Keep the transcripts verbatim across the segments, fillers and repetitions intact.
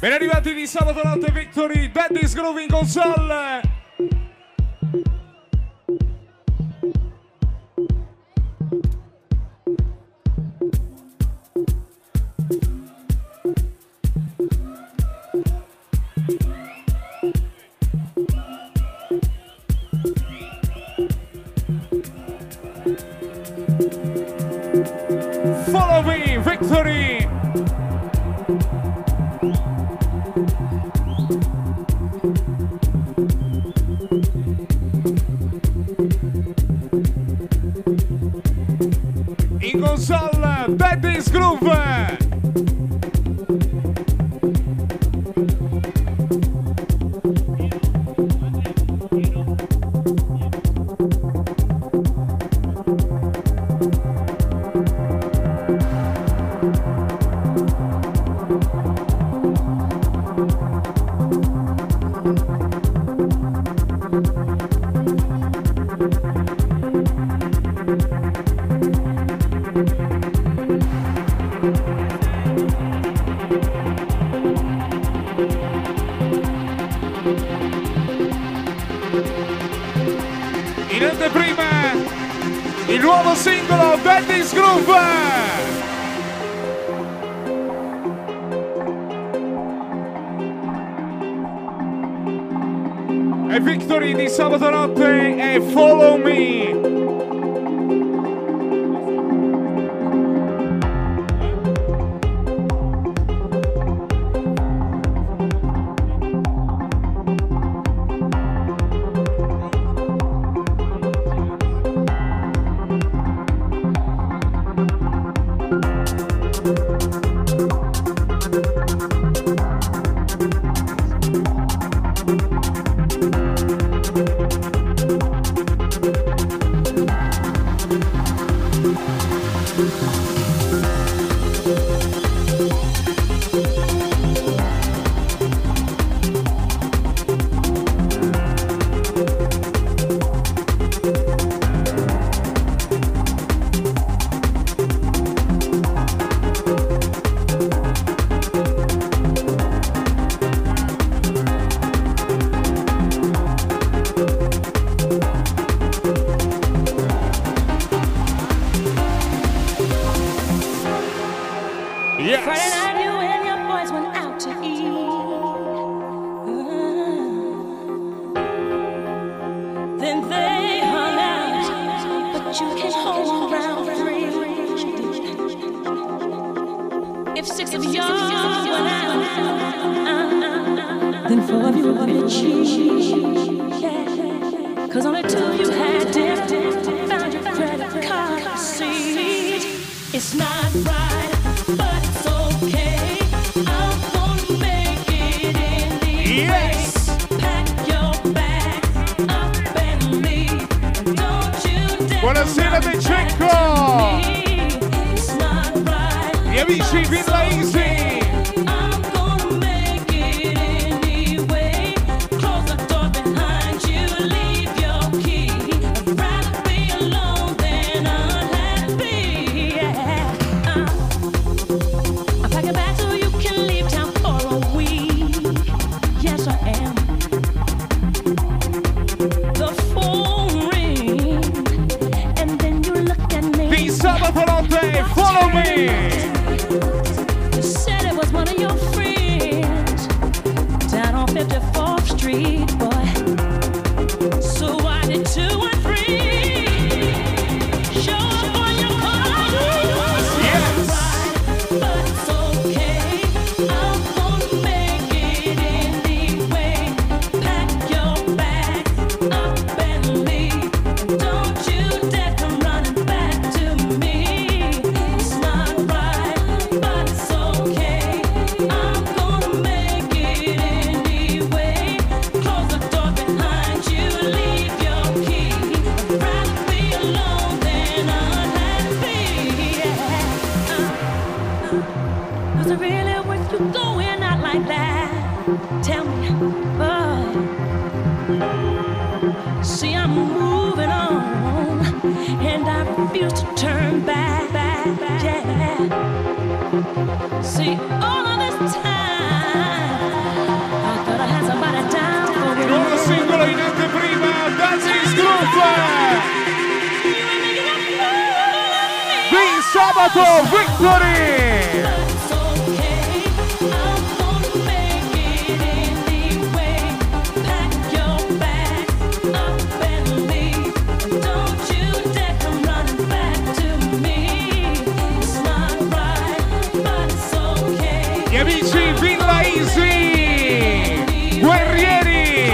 Ben arrivati di sabato notte Victory, Daddy's Groove in console. Follow me, Victory. In console, Daddy's Groove. In anteprima, il nuovo singolo Daddy's Groove. E Victory di sabato notte è Follow Me. Friday night you and your boys went out to eat. Uh, then they hung out, but you can hold around free. If six of y'all went out, then four of you were gonna cheat. Yeah. Cause only two you had dinner, found your credit card receipt. It's not right. Yes! Pack your bags up and leave. Don't you dare. Buonasera De Cecco! Gli amici Villa Easy! I'm gonna make it anyway. Close the door behind you, leave your key. I'd rather be alone than unhappy. Yeah. Uh. sabato, Victory! Gli amici Villa Easy, guerrieri!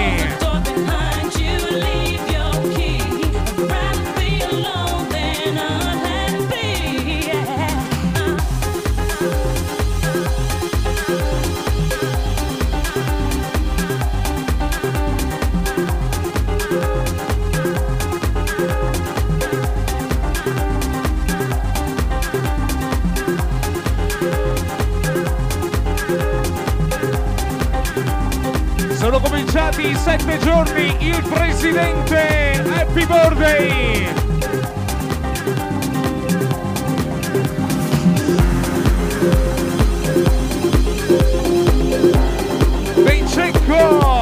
Sono cominciati i sette giorni, il presidente, happy birthday! Vincecco!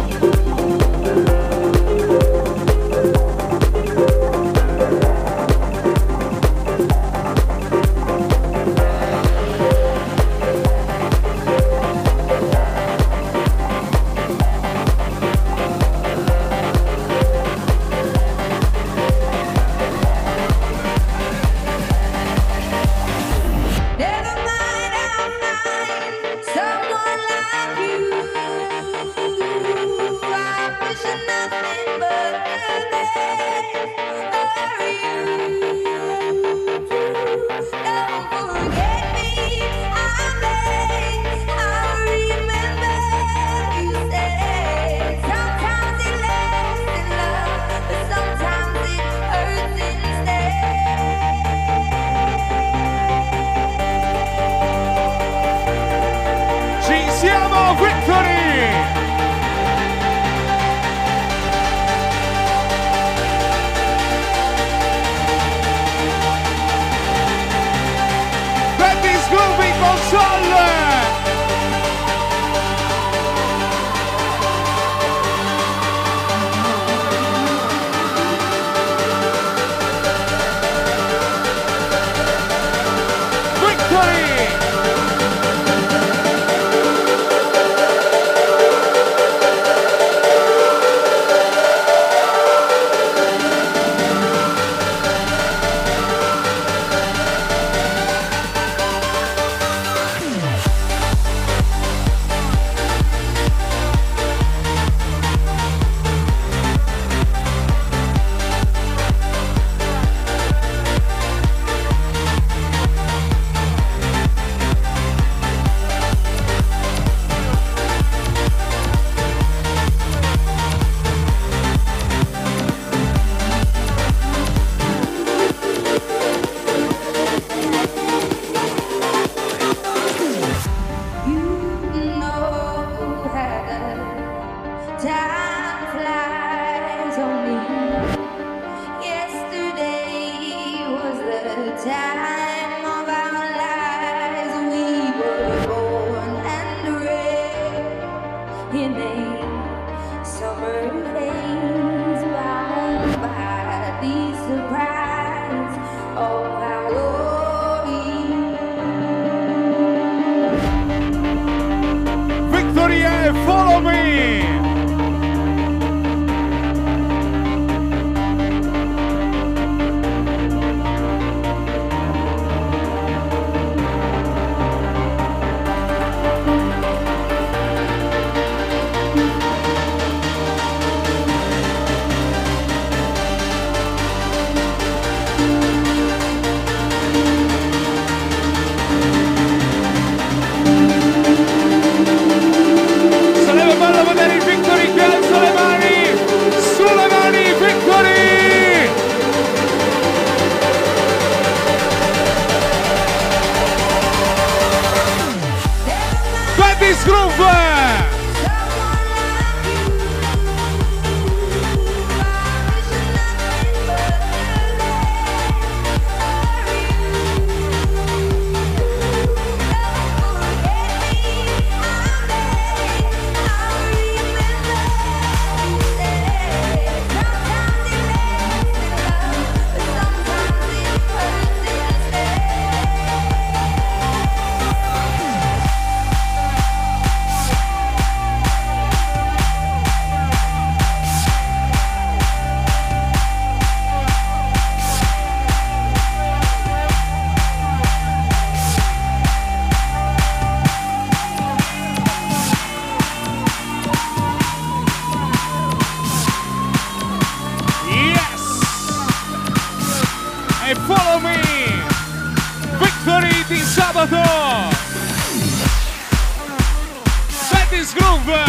Follow me! this groove.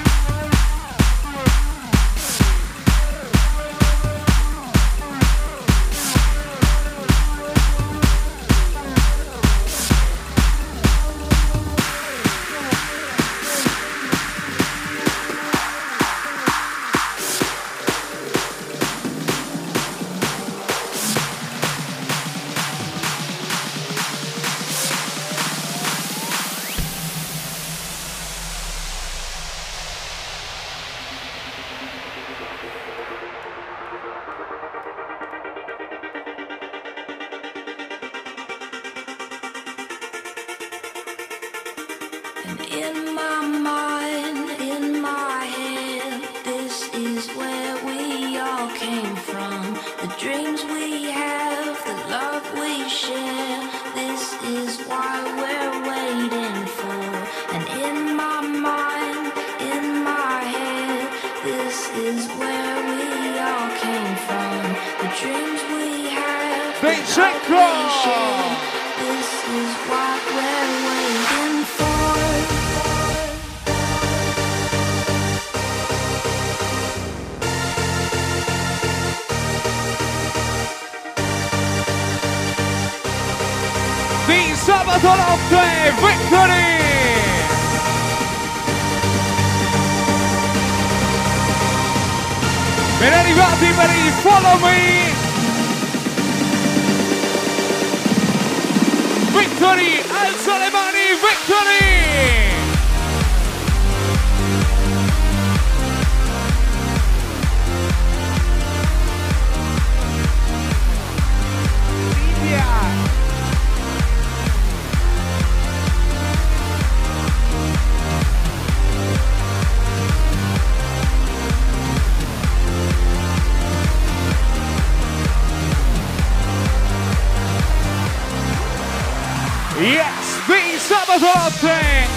In my mind, in my head, this is where we all came from. The dreams we have, the love we share, this is why we're waiting for. And in my mind, in my head, this is where we all came from. The dreams we have, the love we share, this is what we're waiting for. Di sabato notte, Victory! Ben arrivati per il Follow Me! Victory, alza le mani, Victory! Yes, di sabato notte!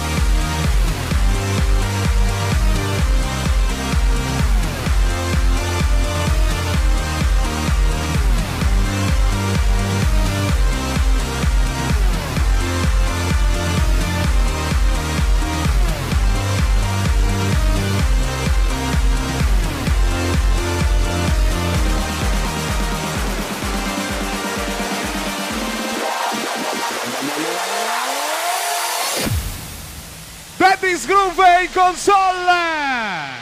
Daddy's Groove in console!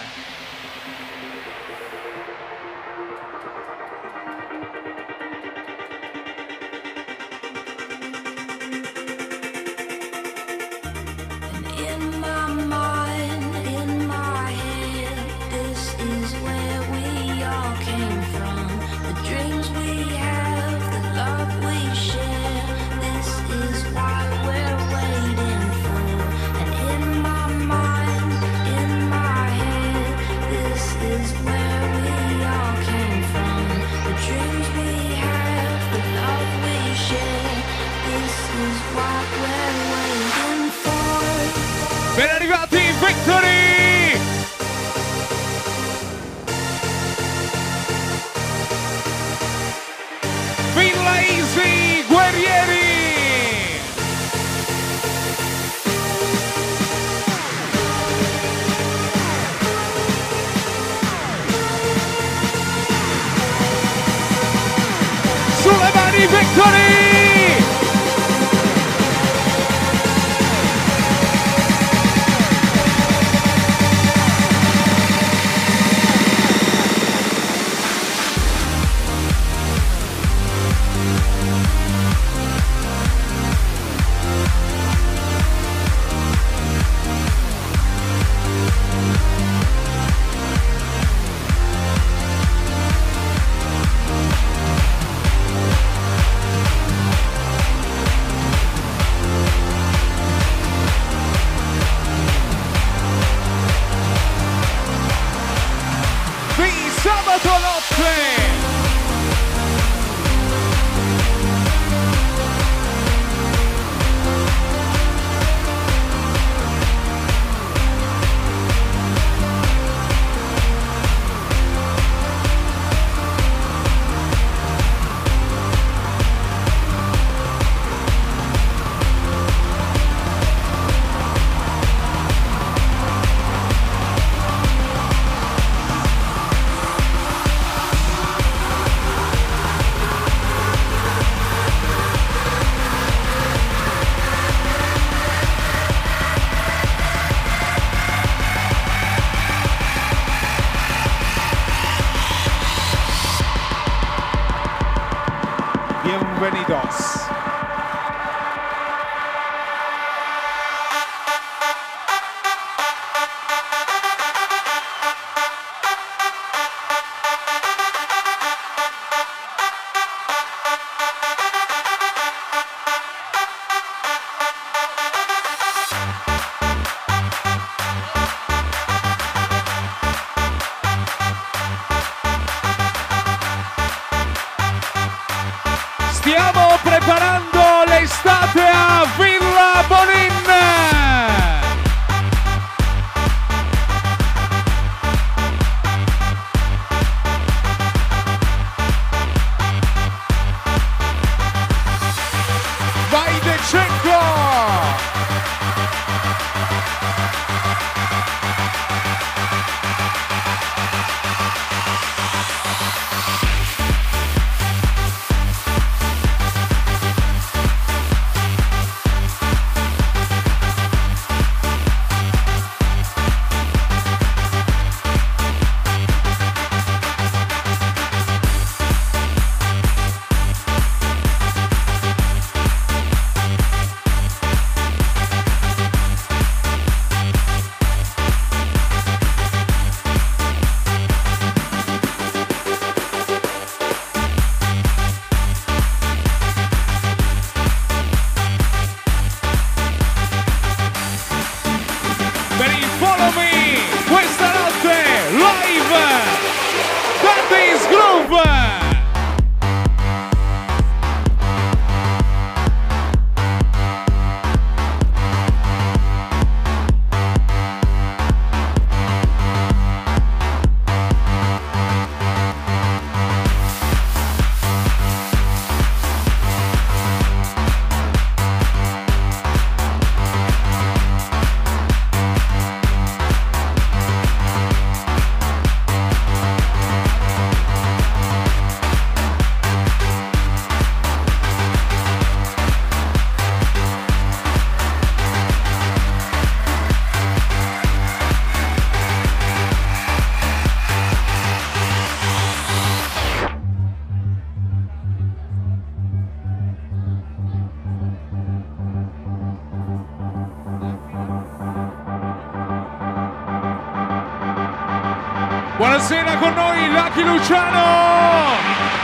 Ben arrivati, Victory! Villa Easy, guerrieri! Sulle mani, Victory! per il Follow Me questa notte live Daddy's Groove. Buonasera con noi Lucky Luciano!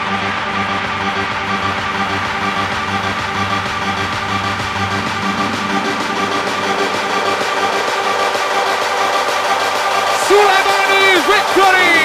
Sulle mani Victory!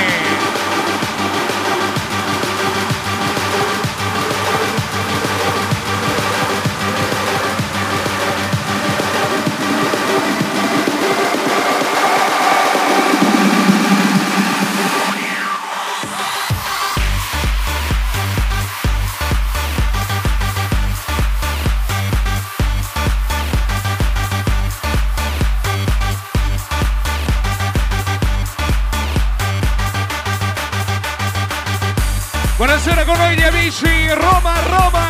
Buonasera con noi gli amici Roma Roma!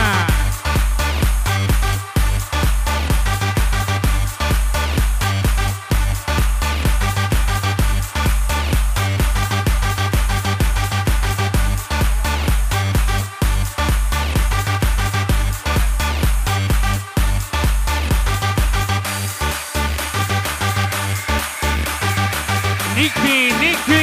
Nicky, Nicky!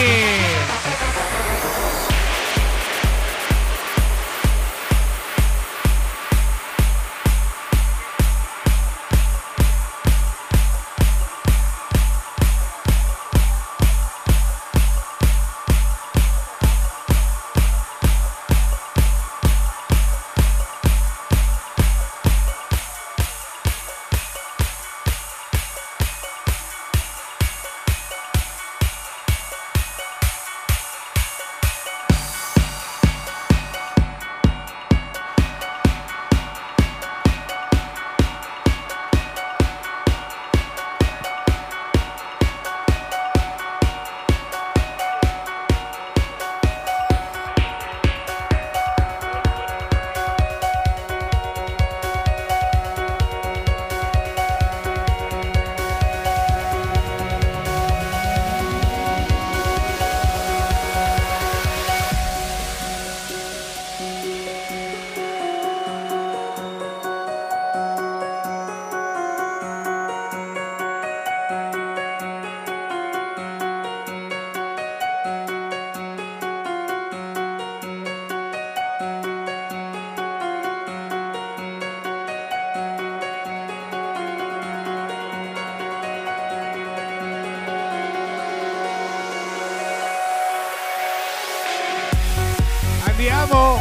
Andiamo!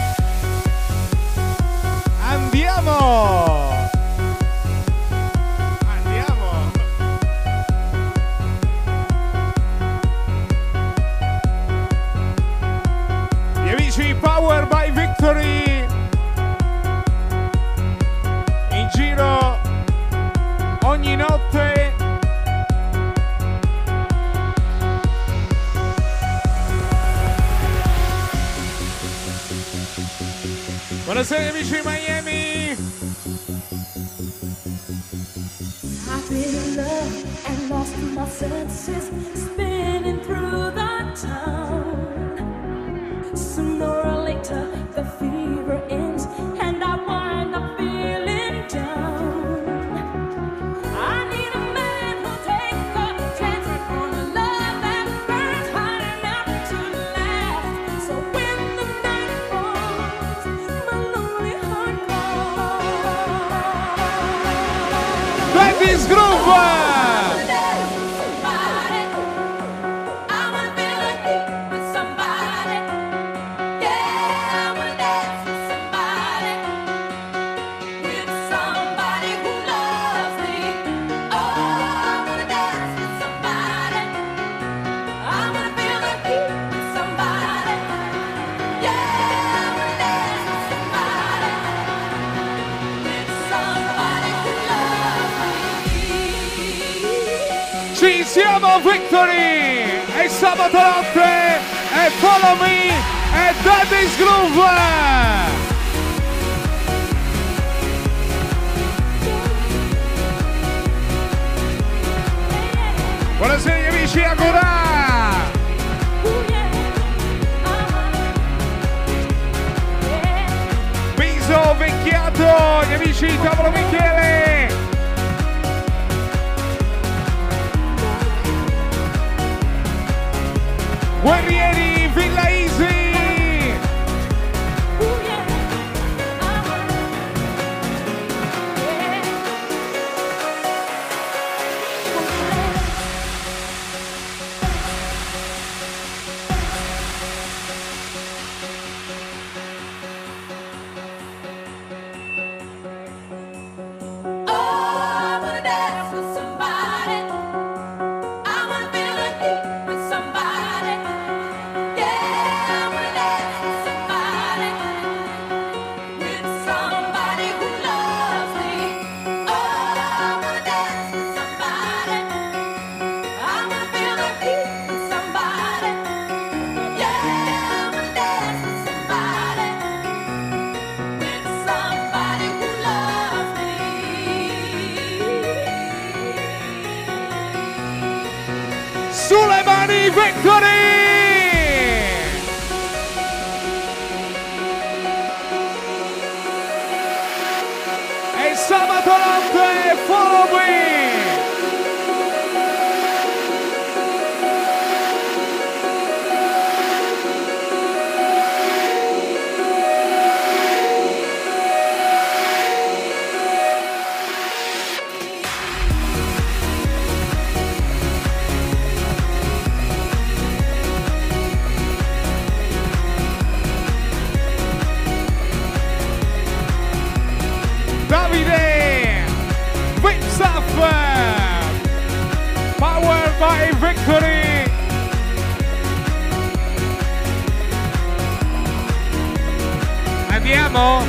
Andiamo! Andiamo! Gli amici Power by Victory in giro ogni notte. Buonasera amici di Miami! I've been in love and lost my senses, spinning through the town. Sooner or later the fever ends and I wind up feeling down. I need a man who'll take a chance on a love that burns hot enough to last. So when the night falls, my lonely heart calls. Daddy's Groove! Ci siamo, Victory! È sabato notte, è Follow Me, è Daddy's Groove! Buonasera gli amici, ancora! Piso Vecchiato, gli amici di Tavolo Michele! Guerrieri Villa Easy! Sulle mani, Victory! E sabato notte, Follow Me! Davide Vipsaf Powered by Victory. Andiamo?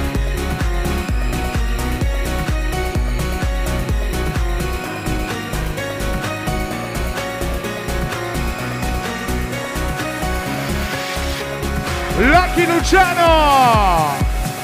Lucky Luciano!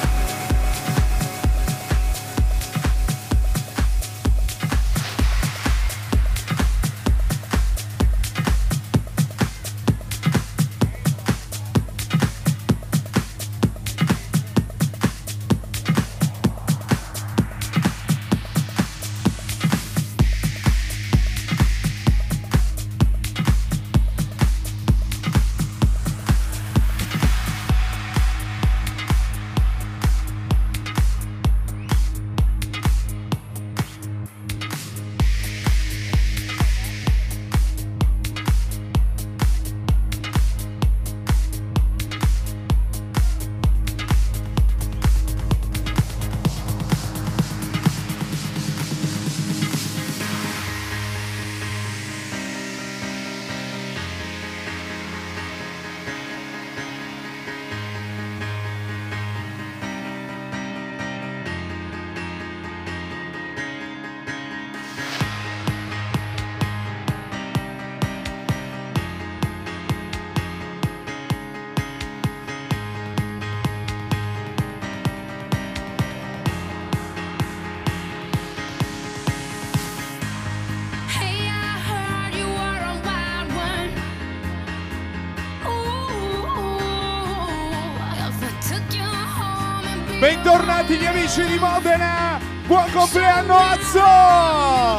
Bentornati gli amici di Modena, buon compleanno Azzo!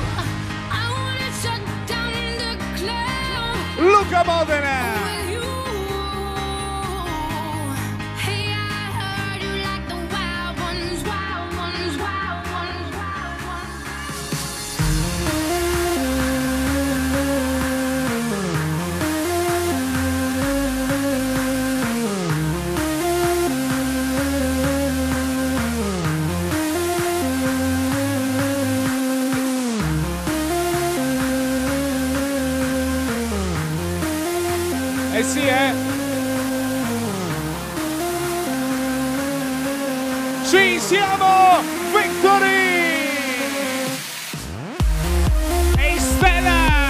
Luca Modena! Eh sì, eh! Ci siamo! Victory! E Stella!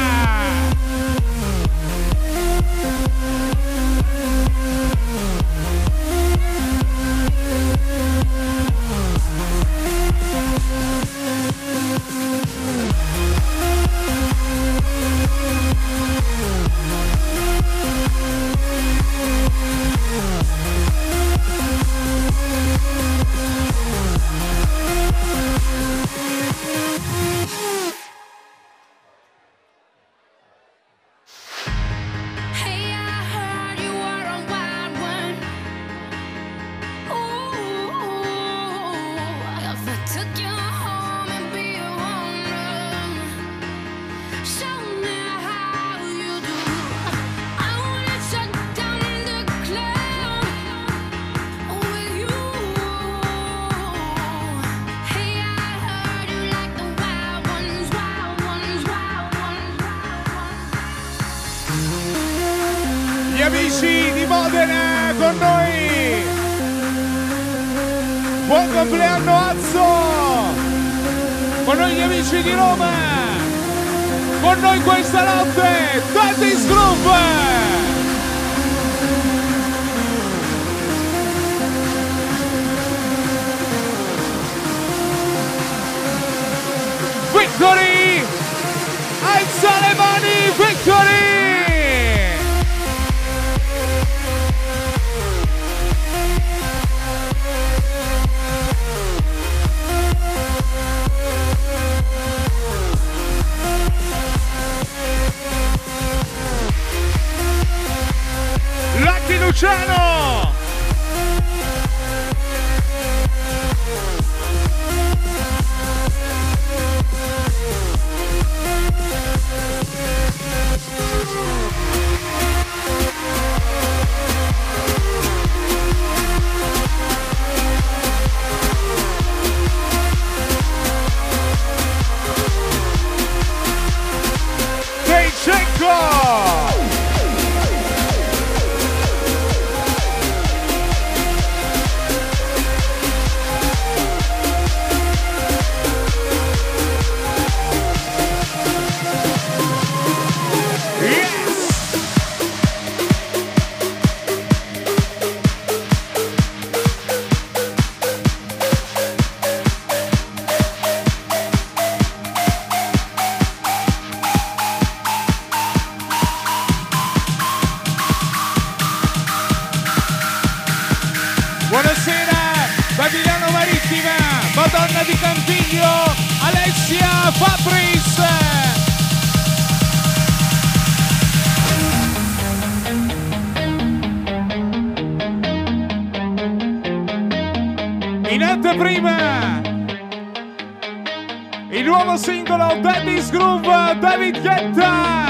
Amici di Modena con noi, buon compleanno Azzo, con noi gli amici di Roma, con noi questa notte Daddy's Groove. Victory, alza le mani, Victory. Luciano! Dejchenko! Buonasera da Milano Marittima, Madonna di Campiglio, Alessia Fabris. In anteprima il nuovo singolo Daddy's Groove, David Guetta.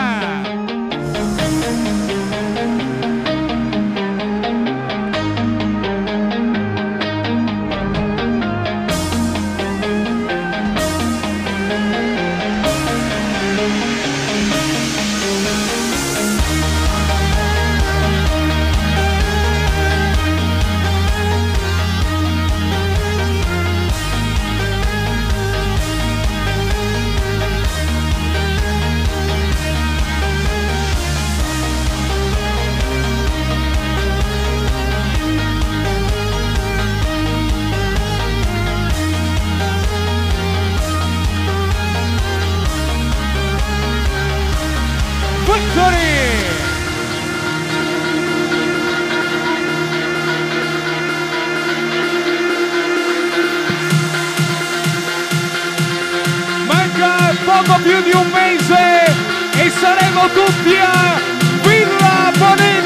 Poco più di un mese e saremo tutti a Villa Bonin.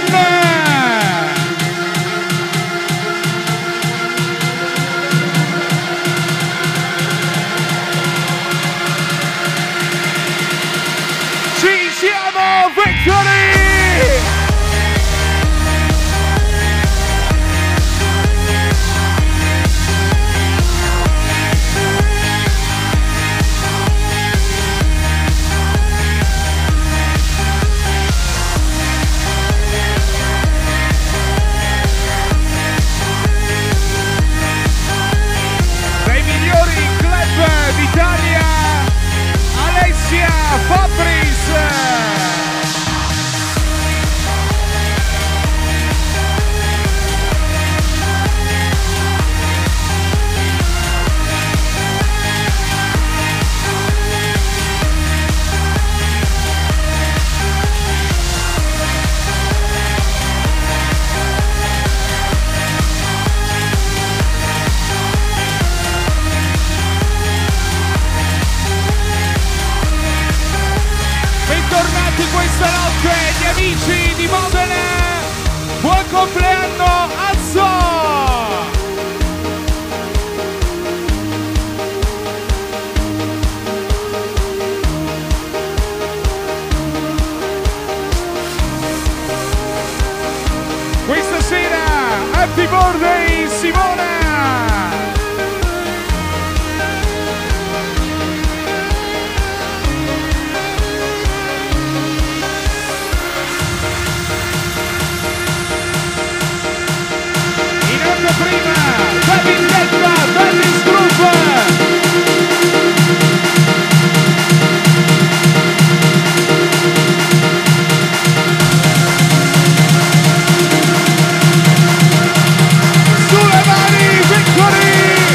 Ci siamo, Victory! D'Italia, Alessia Fabris. Questa notte gli amici di Modena, buon compleanno Azzo! Happy birthday Simona! Prima, da Vendetta, Dennis Group! Sulle mani, Victory!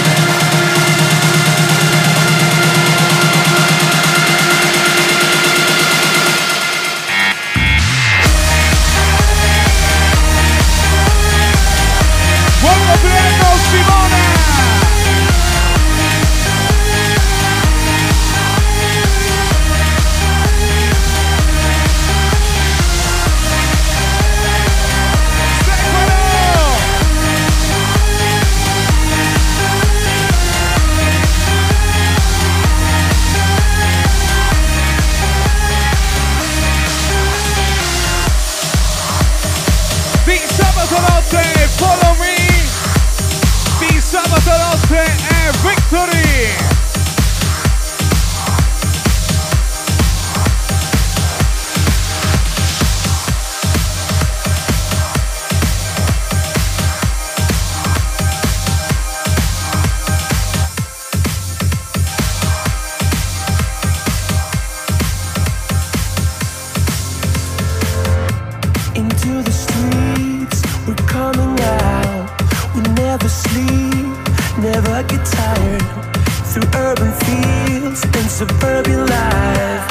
Buon compleanno Simone! Di sabato notte, follow me! Di sabato notte è Victory! Into the streets, we're coming out. We never sleep, never get tired. Through urban fields and suburban life.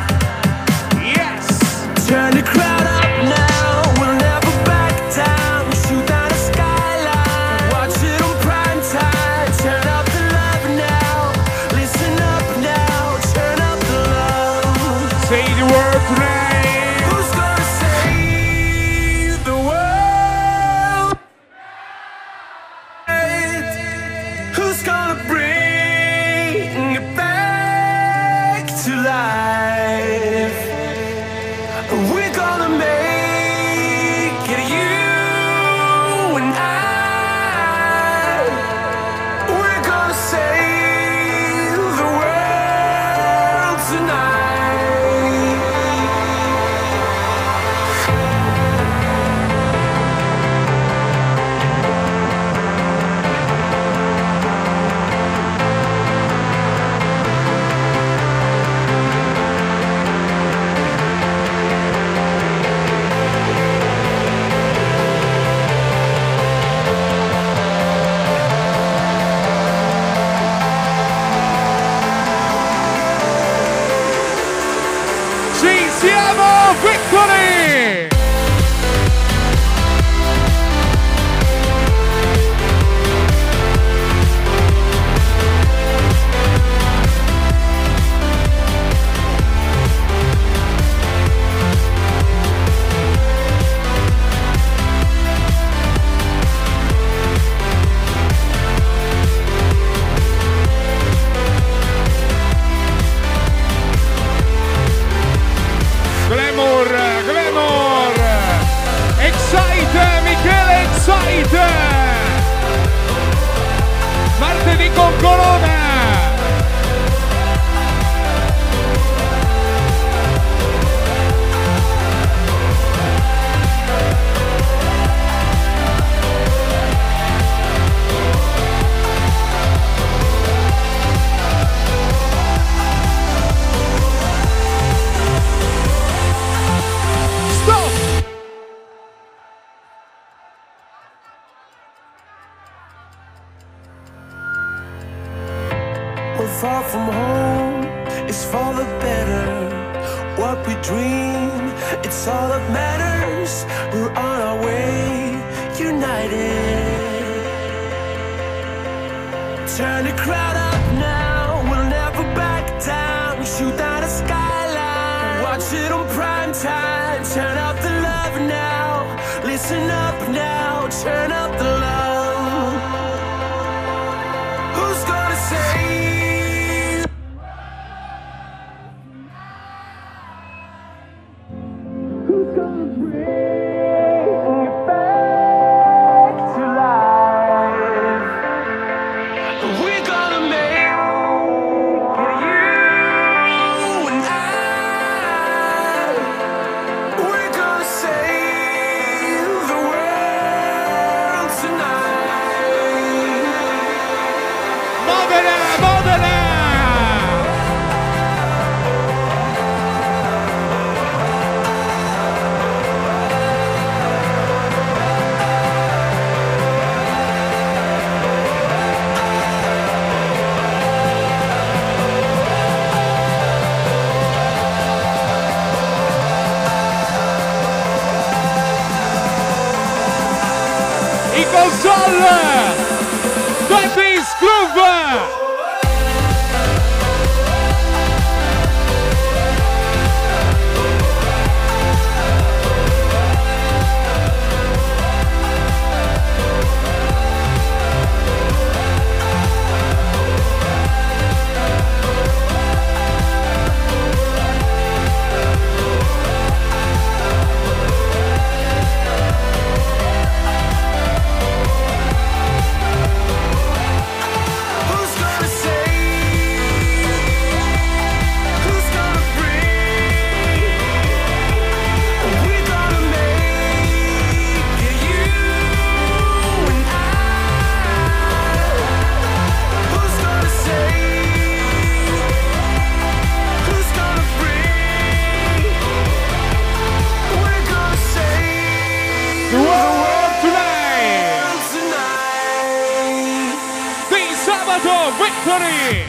Yes! Turn the crowd up now, we'll never back down. Shoot down the skyline, watch it on prime time. Turn up the love now, listen up now. Turn up the love. Say the word today! Who's gonna save the world? Who's gonna bring it back to life? We're gonna make it, you and I. We're gonna save the world tonight. Ci siamo, Victory! Glamour, Glamour! Excite, Michele Excite! Martedì con Corona! Stop! We're far from home, it's for the better. What we dream, it's all that matters. We're on our way, united. Turn the crowd up now, we'll never back down. Shoot down the skyline, watch it on prime time. Turn up the love now, listen up now. Turn up the love. Who's gonna save? Who's gonna bring it back to life? in console twenties Groove. Victory!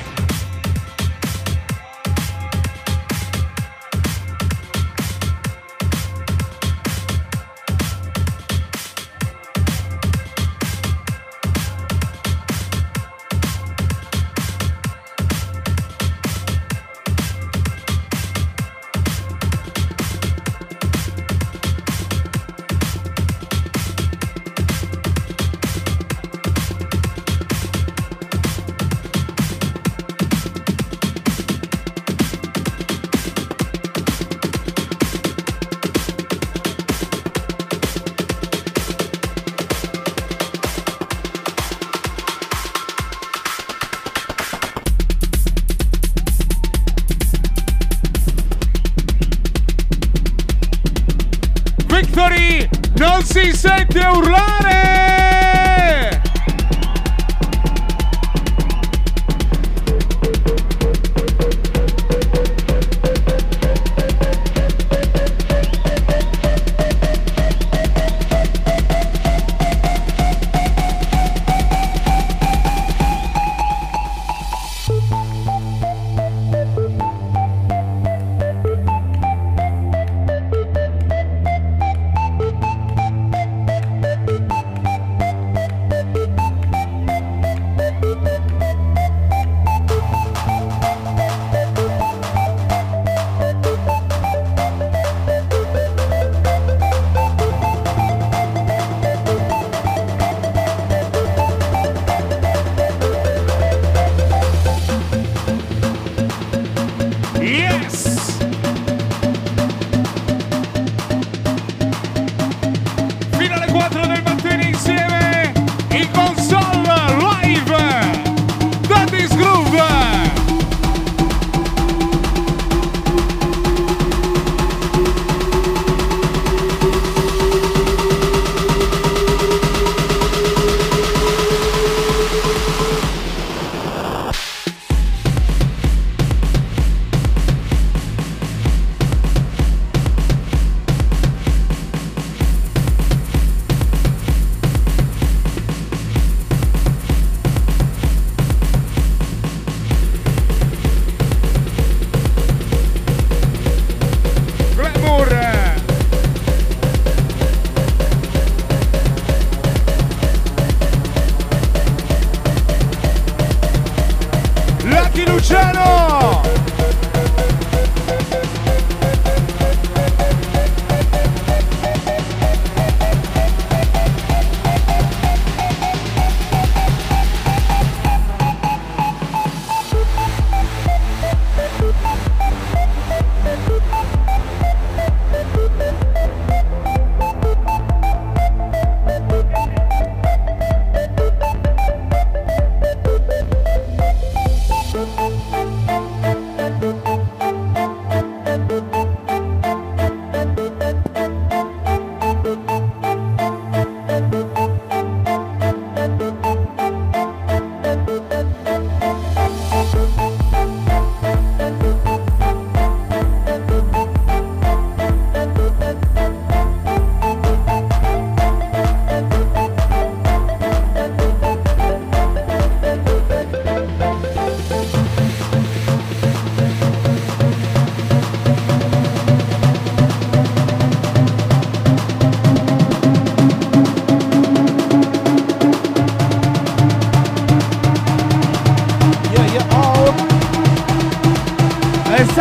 Victory non si sente urlare!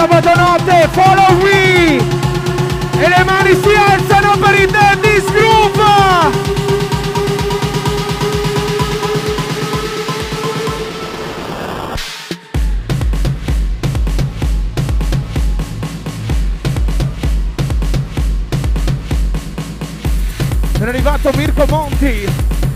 sabato notte, follow me! E le mani si alzano per il Daddy's Groove! È arrivato Mirko Monti.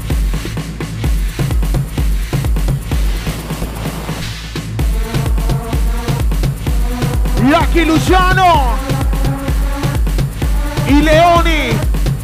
Lucky Luciano. I Leoni.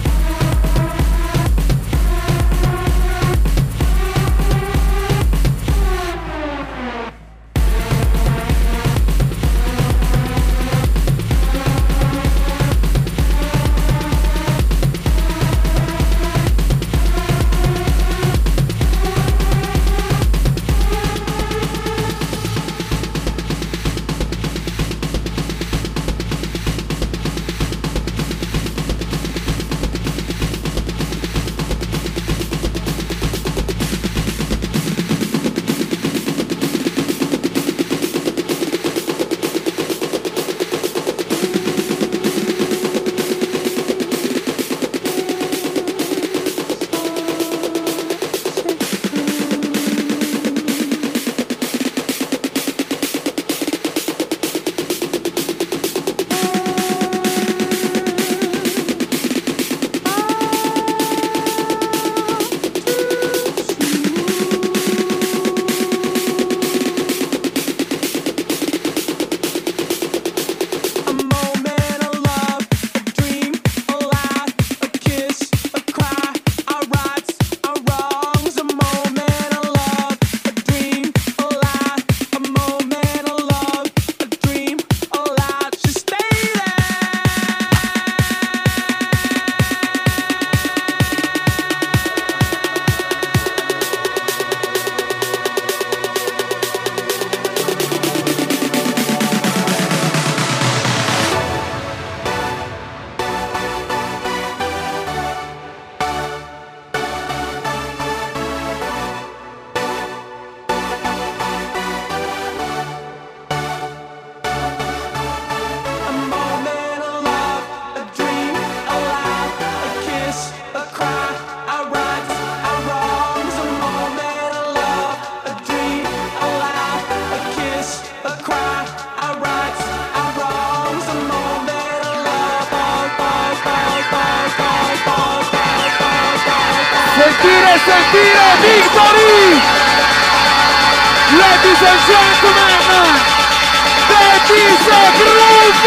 Sentire, sentire, Victory! Ladies and gentlemen, that is a groove!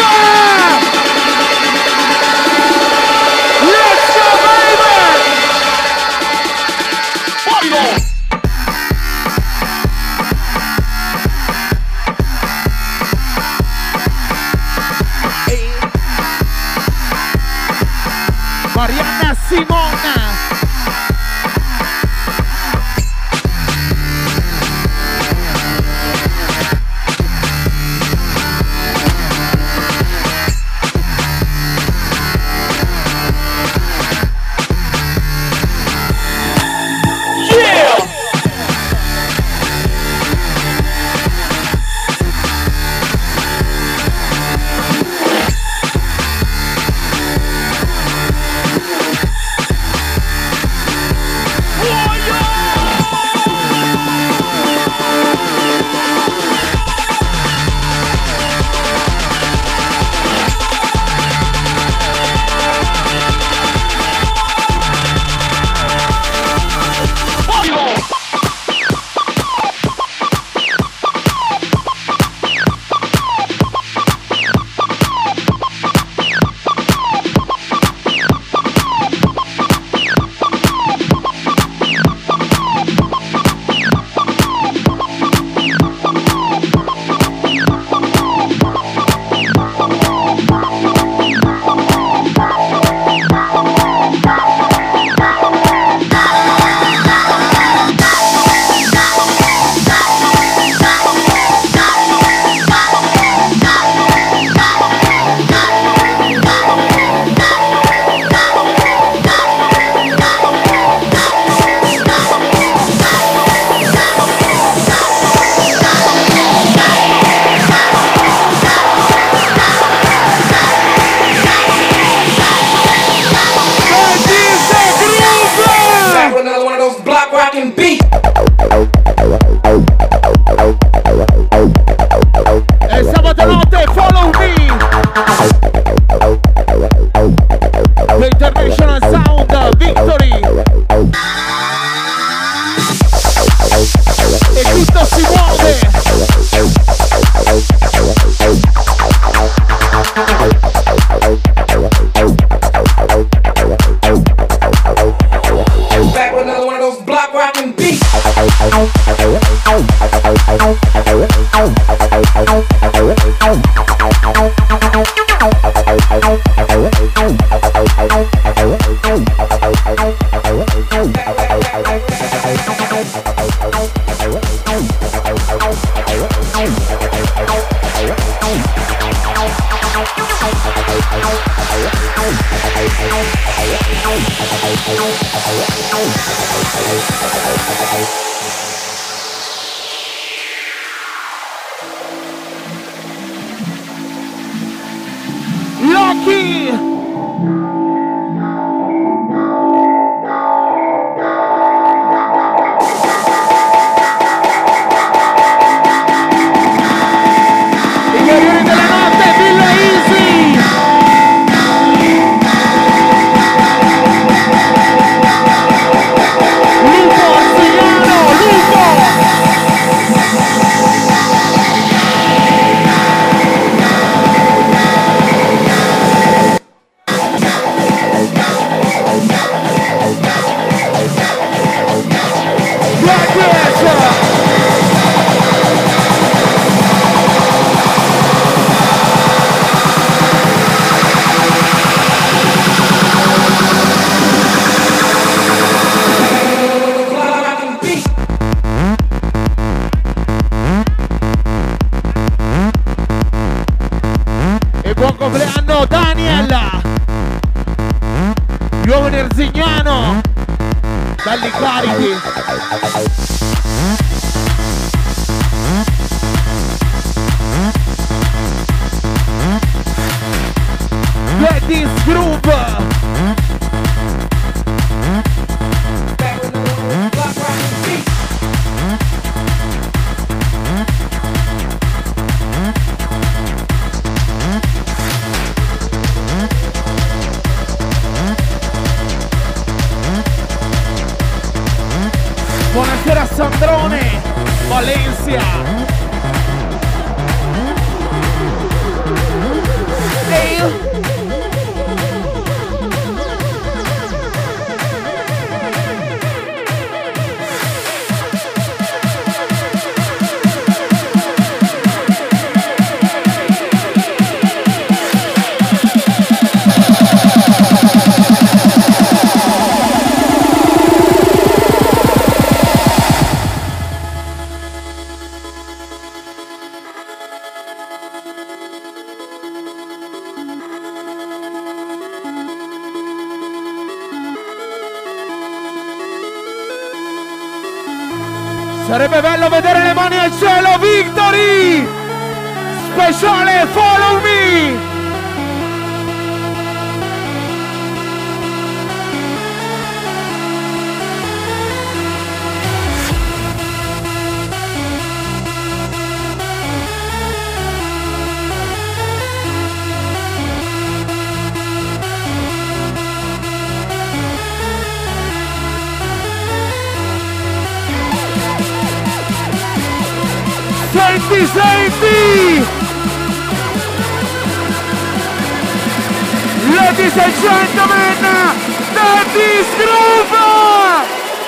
Let's go, baby! Marianna Simona! Lucky! I guerrieri della notte, Villa Easy! Lupo Arsignano, Lupo! E buon compleanno Daniel, Giovane Erzignano, belli carichi. Get this groove. Buonasera Sandrone, Valencia. Ehi. Sarebbe bello vedere le mani al cielo, Victory! Speciale Follow Me! Senti, senti! Ladies and gentlemen, Daddy's Groove!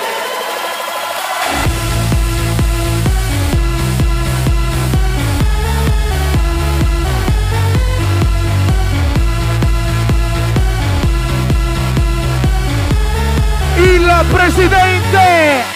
Il presidente!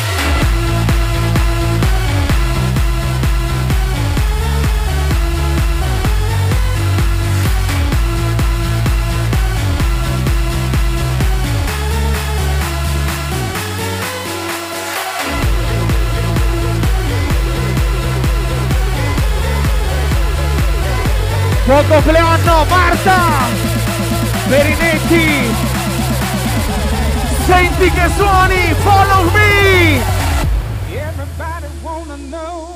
Buon compleanno Marta Perinetti, senti che suoni, Follow Me. Everybody wanna know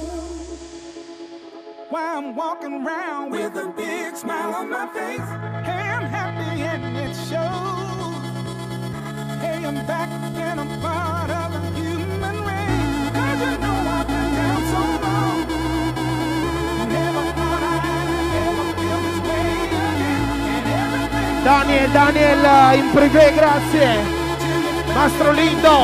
why I'm walking around with a big smile on my face. Hey, I'm happy and it shows. Hey, I'm back and I'm part of the human race. 'Cause you know I've been down so long. Never thought I'd ever feel this way again. And everything Daniel, Daniel in privé, grazie. Mastro Lindo,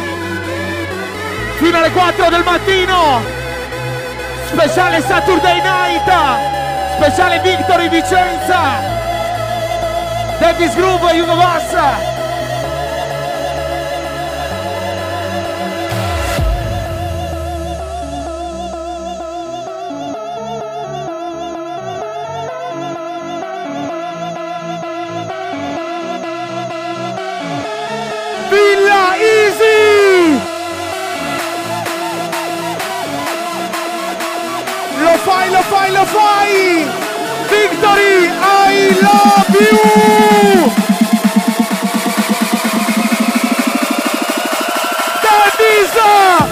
fino alle quattro del mattino, speciale Saturday Night, speciale Victory Vicenza, Daddy's Groove, Hugo Boss. lo fai, lo fai! Victory, I love you! Davisa!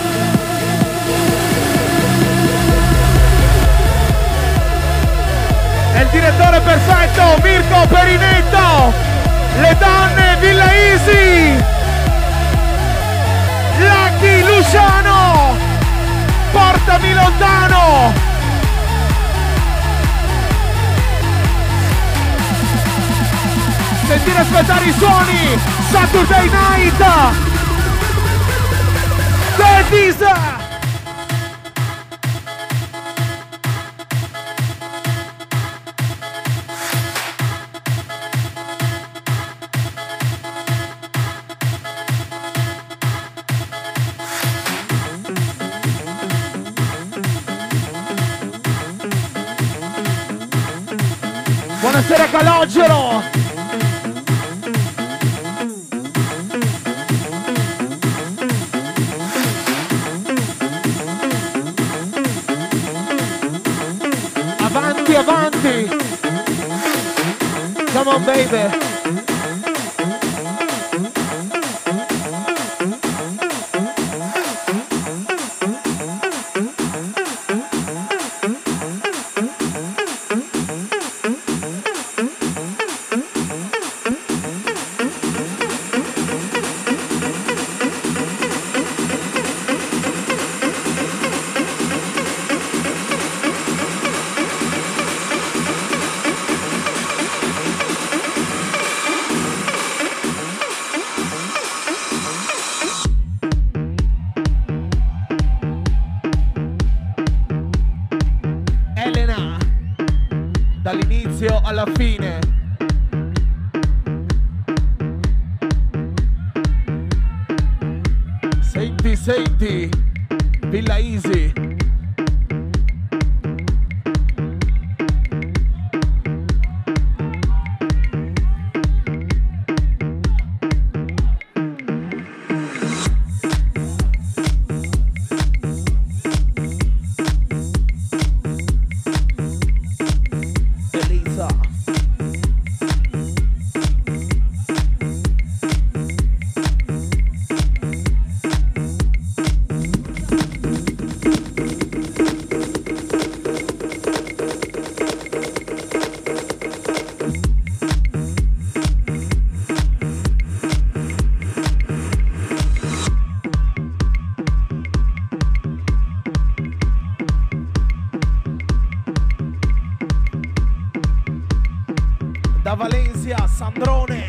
È il direttore perfetto, Mirko Perinetto! Le donne, Villa Easy! Lucky Luciano! Portami lontano! Sentire aspettare i suoni! Saturday Night! Davisa! Buonasera Calogero! Avanti, avanti! Come on baby! Dall'inizio alla fine. Senti, senti, Villa Easy. Da Valencia, Sandrone.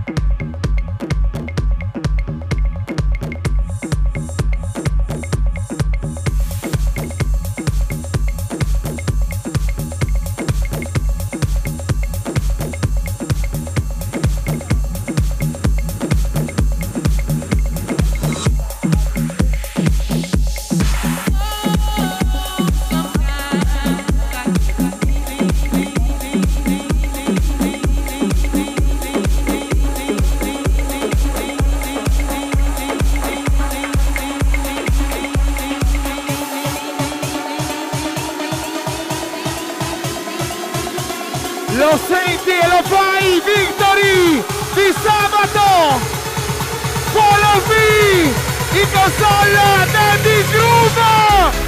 Lo senti e lo fai, Victory di sabato! Follow me! In console Daddy Groove!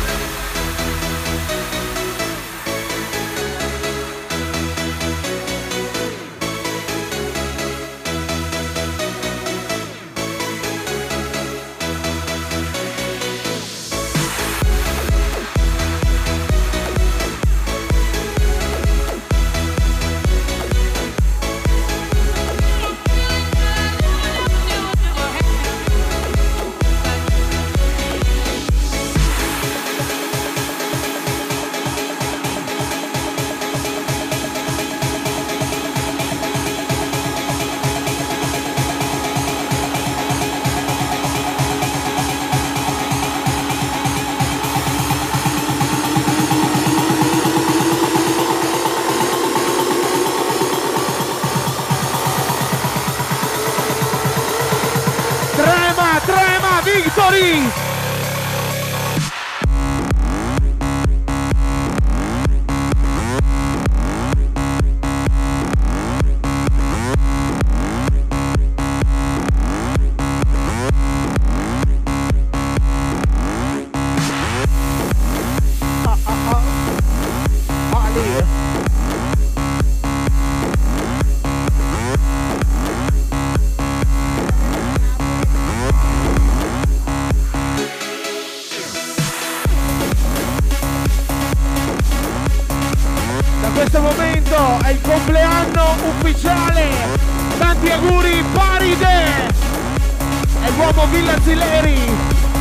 Victory! Tanti auguri Paride e l'uomo Villa Zileri.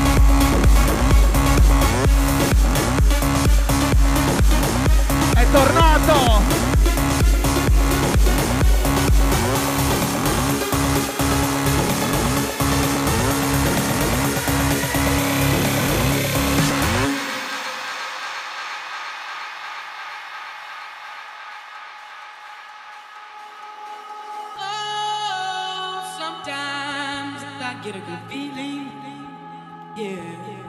È tornato. Get a good feeling, yeah.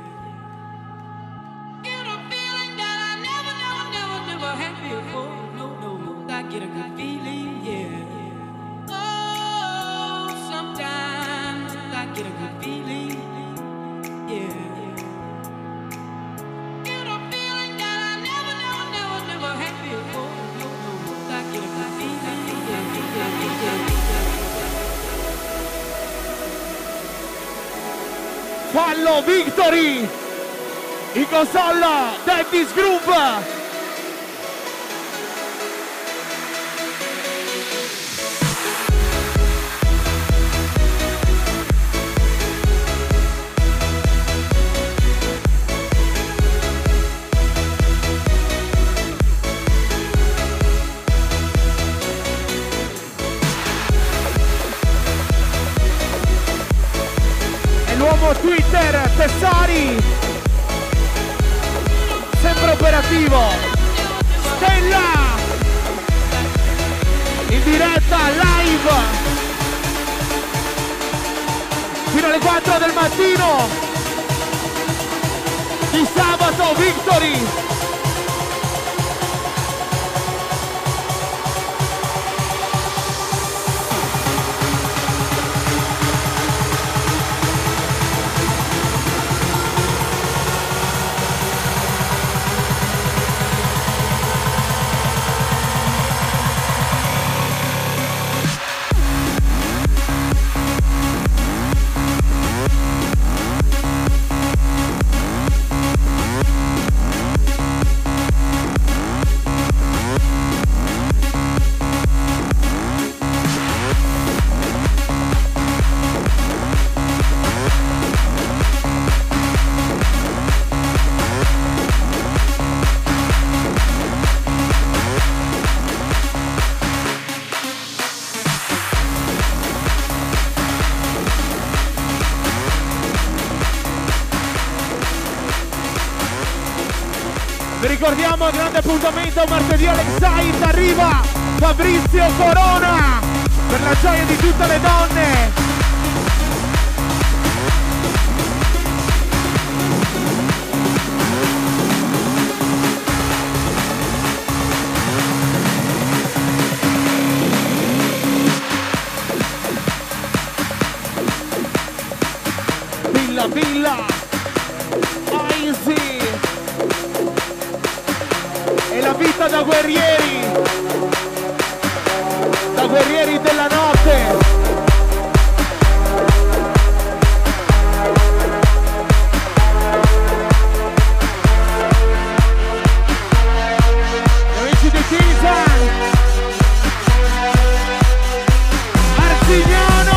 Get a feeling that I never, never, never, never had before. No, no, no. I get a good feeling, yeah. Oh, sometimes I get a good feeling, yeah. Get a feeling that I never, never, never, never had before. No, no, no. I get a good feeling, yeah, yeah, yeah, yeah, yeah. Fallo Victory in console Davis Group. L'uomo Twitter Tessari, sempre operativo. Stella in diretta live fino alle quattro del mattino di sabato. Victory. Vi ricordiamo il grande appuntamento martedì all'Excite, arriva Fabrizio Corona per la gioia di tutte le donne. Villa Villa Easy e la vita da guerrieri, da guerrieri della notte. Gli amici di Pisa, Marzignano.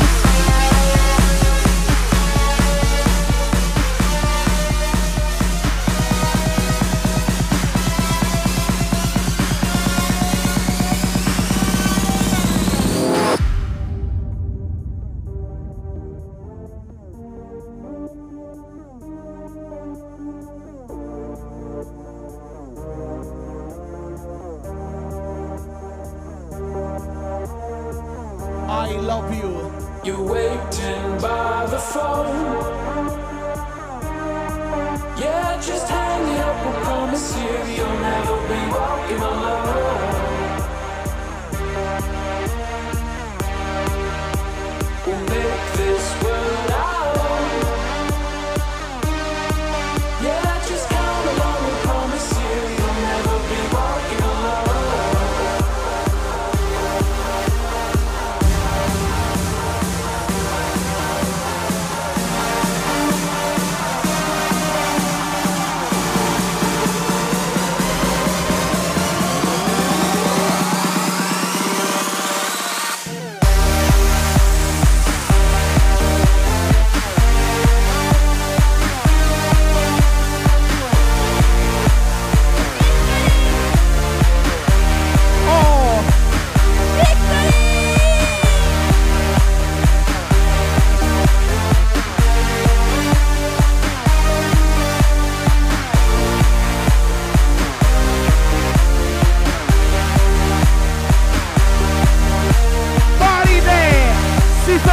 I love you. You're waiting by the phone. Yeah, just hang up. I promise you, you'll never be walking alone. We'll make this world our own. Yeah, just come along. I promise you, you'll never be walking alone.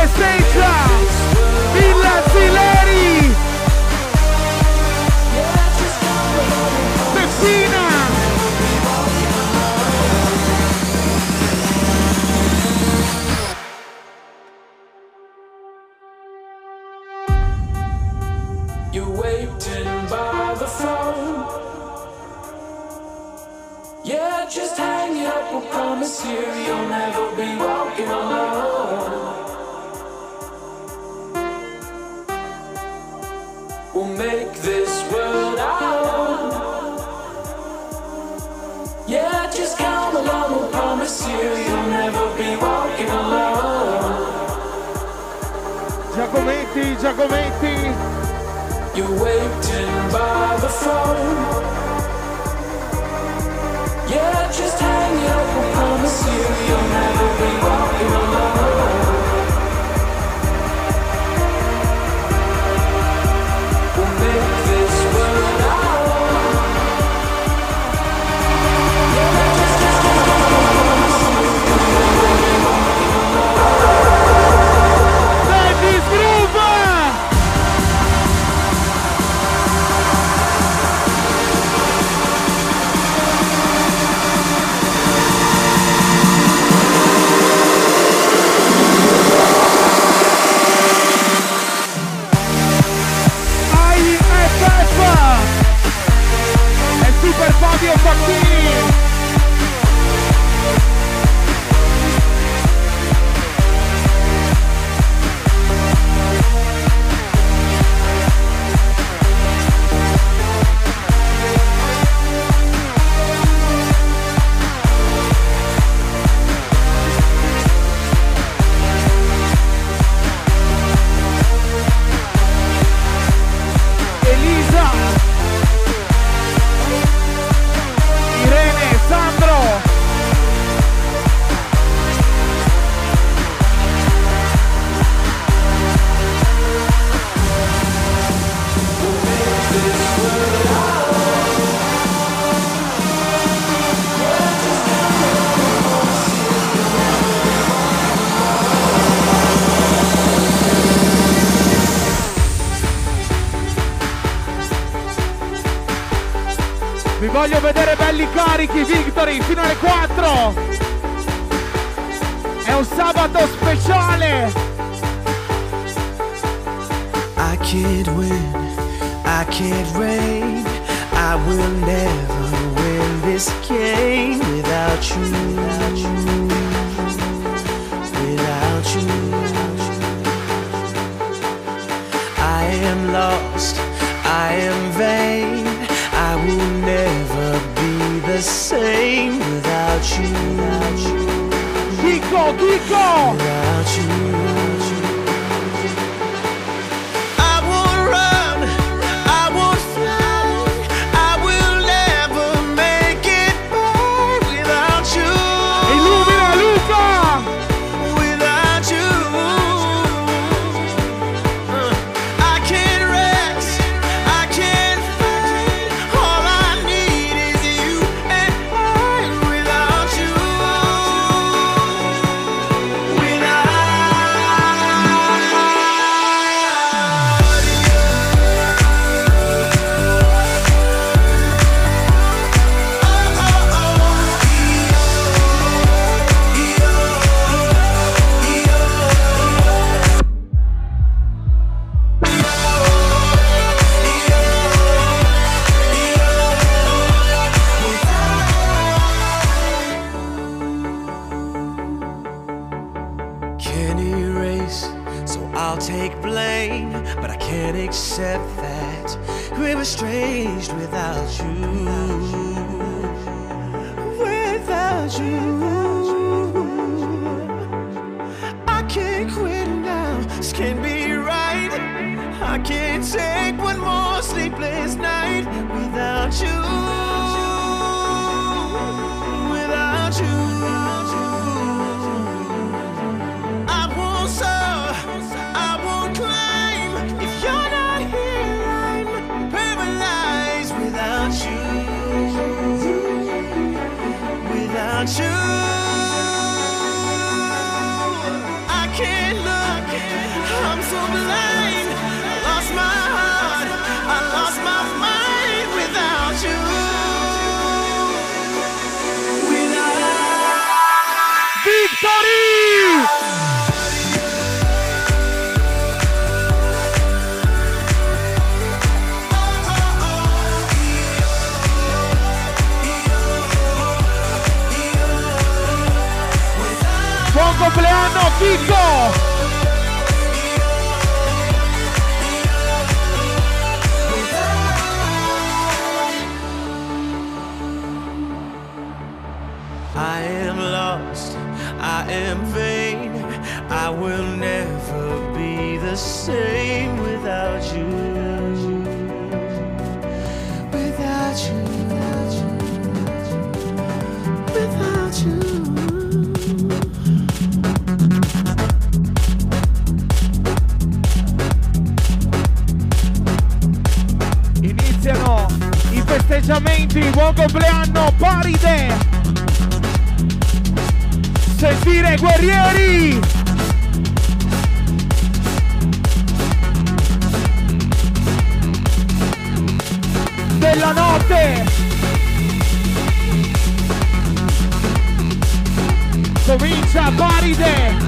festeggia Villa Zileri, Messina. You're waiting by the phone. Yeah, just hang it up, we'll promise you you'll never be walking alone. We'll make this world our own. Yeah, just come along, we'll promise you you'll never be walking alone. Giacometti, Giacometti. You're waiting by the phone. Yeah, just hang it up, we'll promise you you'll never be walking alone. We'll make this world our own. Yeah, just, just hang it up, we'll promise you you'll never be walking alone. Davis Groove! Super Fabio Facchini. Elisa, Irene, Sandro. Vi voglio vedere belli carichi, Victory, fino alle quattro. È un sabato speciale. I can't win, I can't reign, I will never win this game without you, without you, without you. I am lost, I am vain, I will never be the same without you, without you, Kiko, Kiko. without you. I won't run, I won't fly, I will never make it by without you, Illumina Luca. without you. Uh, I can't rest, I can't fight, all I need is you and I without you, without Can't erase, so I'll take blame, but I can't accept that we're estranged without you, without you. I can't quit now, this can't be right. I can't take one more sleepless night without you, without you. I won't soar, I won't climb. If you're not here, I'm paralyzed without you, without you. I can't look, so blind. I lost my heart, I lost my mind without you. Without Victory! Buon compleanno Chicco! I am lost, I am vain. I will never be the same without you. Without you, without you, without you. Iniziano i festeggiamenti, buon compleanno Paride! Sentire guerrieri! Della notte! Comincia Paride!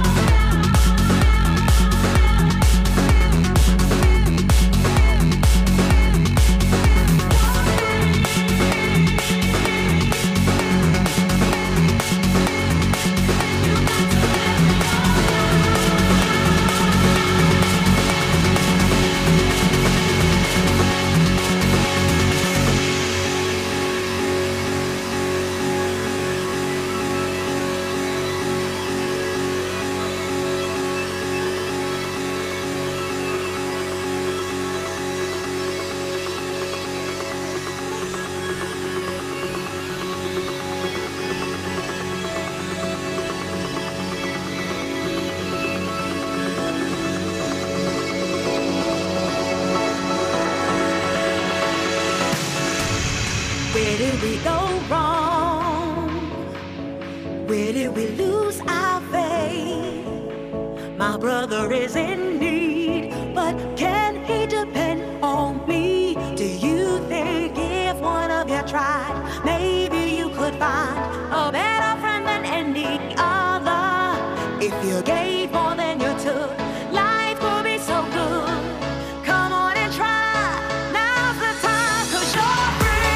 Where did we go wrong? Where did we lose our faith? My brother is in need, but can he depend on me? Do you think if one of you tried, maybe you could find a better friend than any other? If you gave more than you took, life would be so good. Come on and try, now's the time, 'cause you're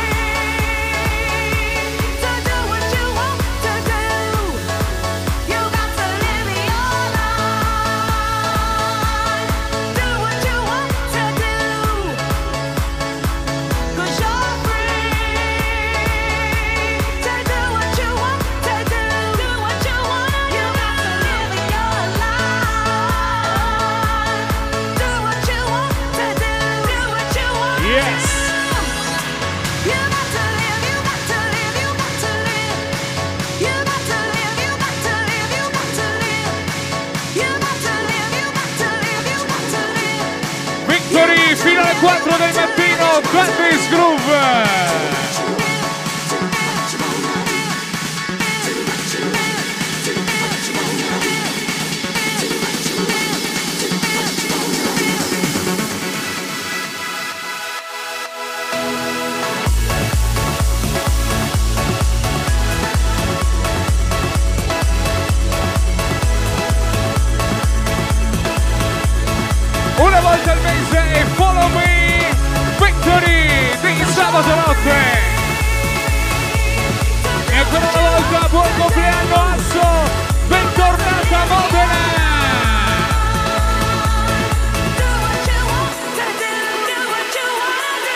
free to do what you want to do. You got to live your life, do what you want to do. 'Cause you're free to do what you want to do. Do what you want to do. You got to live your life, do what you want to do. Do what you want to Yes. do. You got to live, you got to live, you got to live. You got to live, you got to live, you got to live. You got to live, you got to live, you got to live. Victory fino alle quattro del mattino, Gladys Groove! Una volta al mese e Follow Me Victory di sabato notte. E ancora una volta buon compleanno Asso, bentornata Modena. Do what you want to do, do what you wanna do.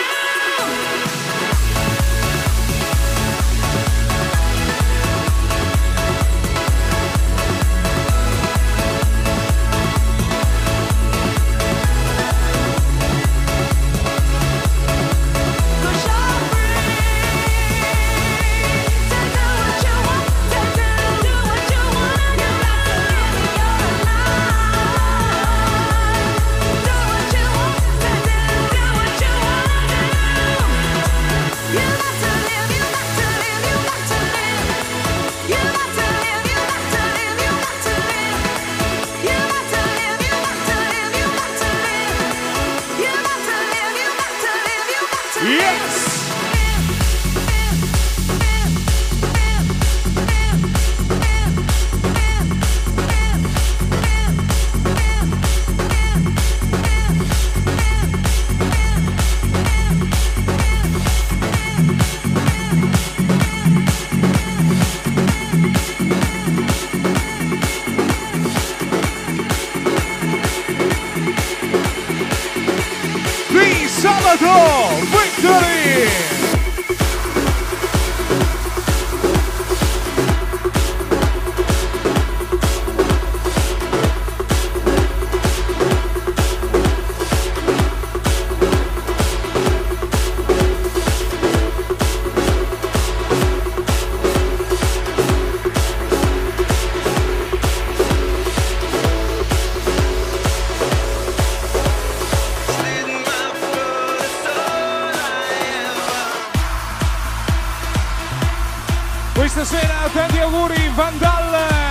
Victory! Questa sera tanti auguri Vandal